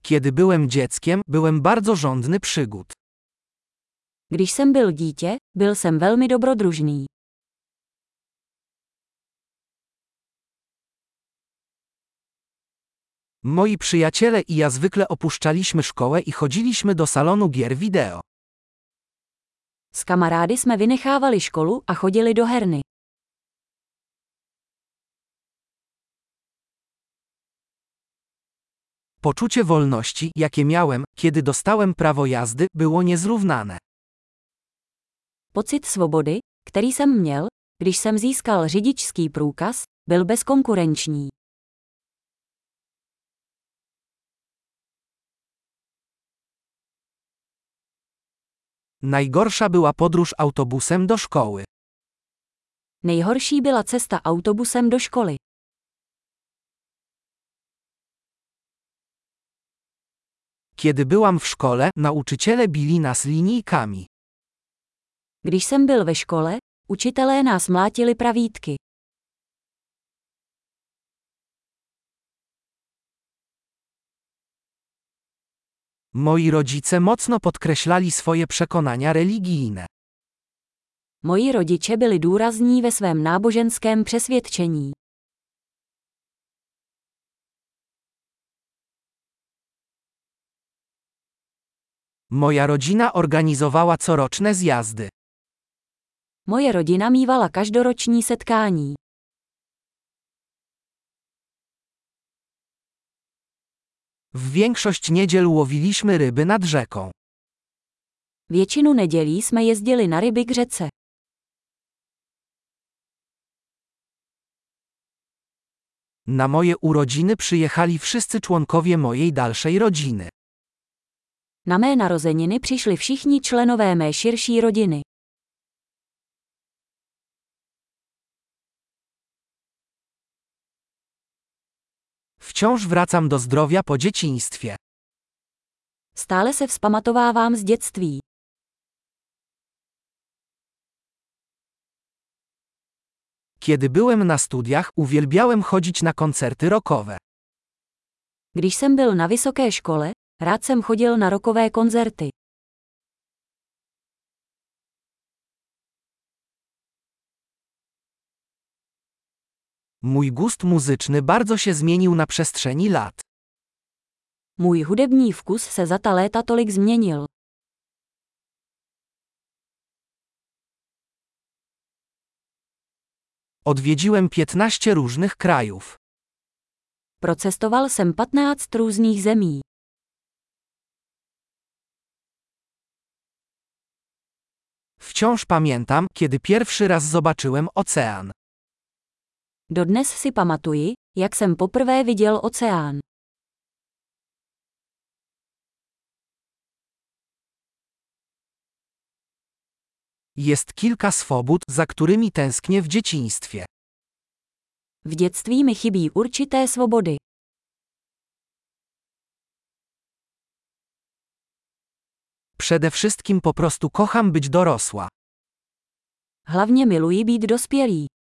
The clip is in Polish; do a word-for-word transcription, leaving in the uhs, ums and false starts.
Kiedy byłem dzieckiem, byłem bardzo żądny przygód. Když jsem byl dítě, byl jsem velmi dobrodružný. Moi przyjaciele i ja zwykle opuszczaliśmy szkołę i chodziliśmy do salonu gier wideo. S kamarády jsme vynechávali školu a chodili do herny. Poczucie wolności, jakie miałem, kiedy dostałem prawo jazdy, było niezrównane. Pocit svobody, který jsem měl, když jsem získal řidičský průkaz, byl bezkonkurenční. Najgorsza była podróż autobusem do szkoły. Nejhorší byla cesta autobusem do školy. Kiedy byłam w szkole, nauczyciele bili nas linijkami. Když jsem byl ve škole, učitelé nás mlátili pravítky. Moi rodzice mocno podkreślali swoje przekonania religijne. Moji rodiče byli důrazní ve svém náboženském přesvědčení. Moja rodzina organizowała coroczne zjazdy. Moje rodina mívala každoroční setkání. W większość niedziel łowiliśmy ryby nad rzeką. Většinu nedělí jsme jezdili na ryby k řece. Na moje urodziny przyjechali wszyscy członkowie mojej dalszej rodziny. Na mé narozeniny přišli všichni členové mé širší rodiny. Wciąż wracam do zdrowia po dzieciństwie. Stále se vzpamatovávám z dětství. Kiedy byłem na studiach, uwielbiałem chodzić na koncerty rockowe. Když jsem byl na vysoké škole, rád jsem chodil na rockové koncerty. Mój gust muzyczny bardzo się zmienił na przestrzeni lat. Můj hudební vkus se za ta léta tolik změnil. Odwiedziłem piętnaście różnych krajów. Procestoval jsem patnáct různých zemí. Wciąż pamiętam, kiedy pierwszy raz zobaczyłem ocean. Dodnes si pamatuji, jak jsem poprvé viděl oceán. Jest kilka swobód, za którymi tęsknię w dzieciństwie. V dětství mi chybí určité svobody. Przede wszystkim po prostu kocham być dorosła. Hlavně miluji být dospělý.